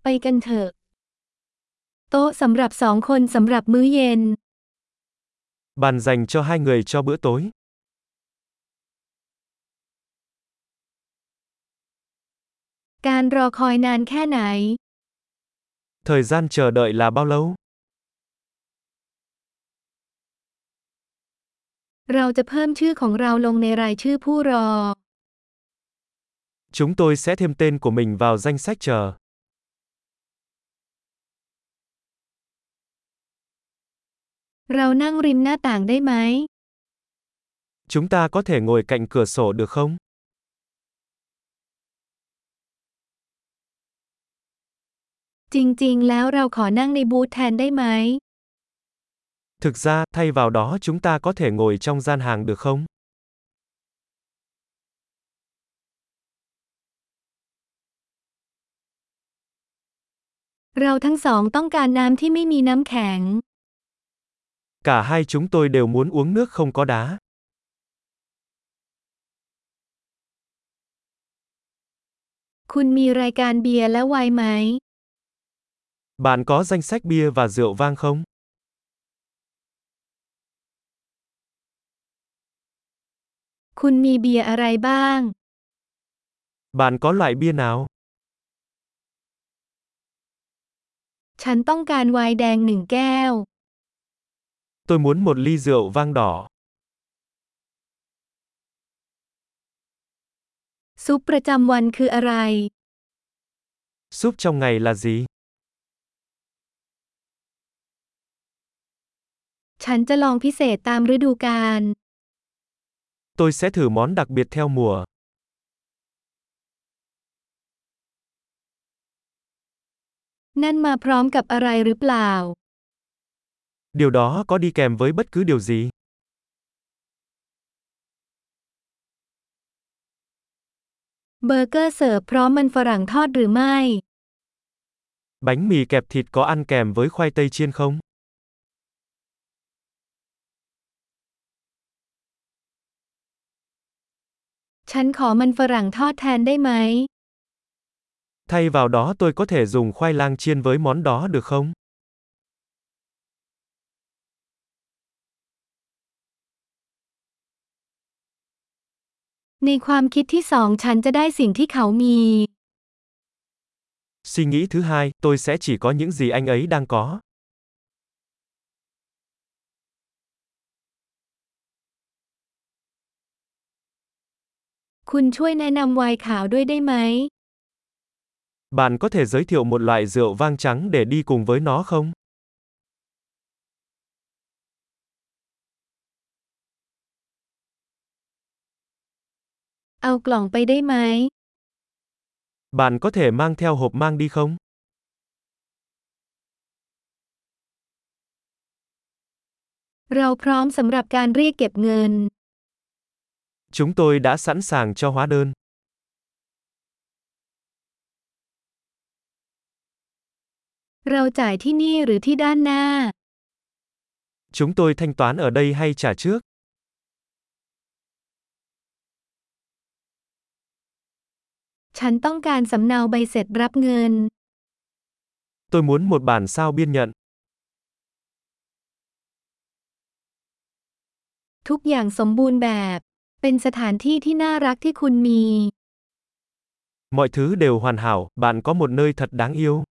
กันเถอะโต๊ะสำหรับสองคนสำหรับมื้อเย็น Bàn dành cho hai người cho bữa tối. การรอคอยนานแค่ไหน Thời gian chờ đợi là bao lâu? เราจะเพิ่มชื่อของเราลงในรายชื่อผู้รอ Chúng tôi sẽ thêm tên của mình vào danh sách chờ. เรานั่งริมหน้าต่างได้ไหม Chúng ta có thể ngồi cạnh cửa sổ được không? จริงๆ แล้วเราขอนั่งในบูธแทนได้ไหม Thực ra, thay vào đó chúng ta có thể ngồi trong gian hàng được không? เราทั้งสองต้องการน้ำที่ไม่มีน้ำแข็ง Cả hai chúng tôi đều muốn uống nước không có đá. คุณมีรายการเบียร์และไวน์ไหม Bạn có danh sách bia và rượu vang không? คุณมีเบียร์อะไรบ้าง Bạn có loại bia nào? ฉันต้องการไวน์แดงหนึ่งแก้ว Tôi muốn một ly rượu vang đỏ. ซุปประจำวันคืออะไร Súp trong ngày là gì? ฉันจะลองพิเศษตามฤดูกาล Tôi sẽ thử món đặc biệt theo mùa. นั่นมาพร้อมกับอะไรหรือเปล่า Điều đó có đi kèm với bất cứ điều gì? เบอร์เกอร์เสิร์ฟพร้อมมันฝรั่งทอดหรือไม่ Bánh mì kẹp thịt có ăn kèm với khoai tây chiên không? ฉันขอมันฝรั่งทอดแทนได้ไหม Thay vào đó tôi có thể dùng khoai lang chiên với món đó được không? ในความคิดที่สองฉันจะได้สิ่งที่เขามี Suy nghĩ thứ hai, tôi sẽ chỉ có những gì anh ấy đang có. คุณช่วยแนะนำไวน์ขาวด้วยได้ไหม Bạn có thể giới thiệu một loại rượu vang trắng để đi cùng với nó không? เอากล่องไปได้ไหม Bạn có thể mang theo hộp mang đi không? เราพร้อมสำหรับการเรียกเก็บเงิน Chúng tôi đã sẵn sàng cho hóa đơn. เราจ่ายที่นี่หรือที่ด้านหน้า Chúng tôi thanh toán ở đây hay trả trước? ฉันต้องการสำเนาใบเสร็จรับเงิน Tôi muốn một bản sao biên nhận. ทุกอย่างสมบูรณ์แบบ เป็นสถานที่ที่น่ารักที่คุณมี Mọi thứ đều hoàn hảo, bạn có một nơi thật đáng yêu.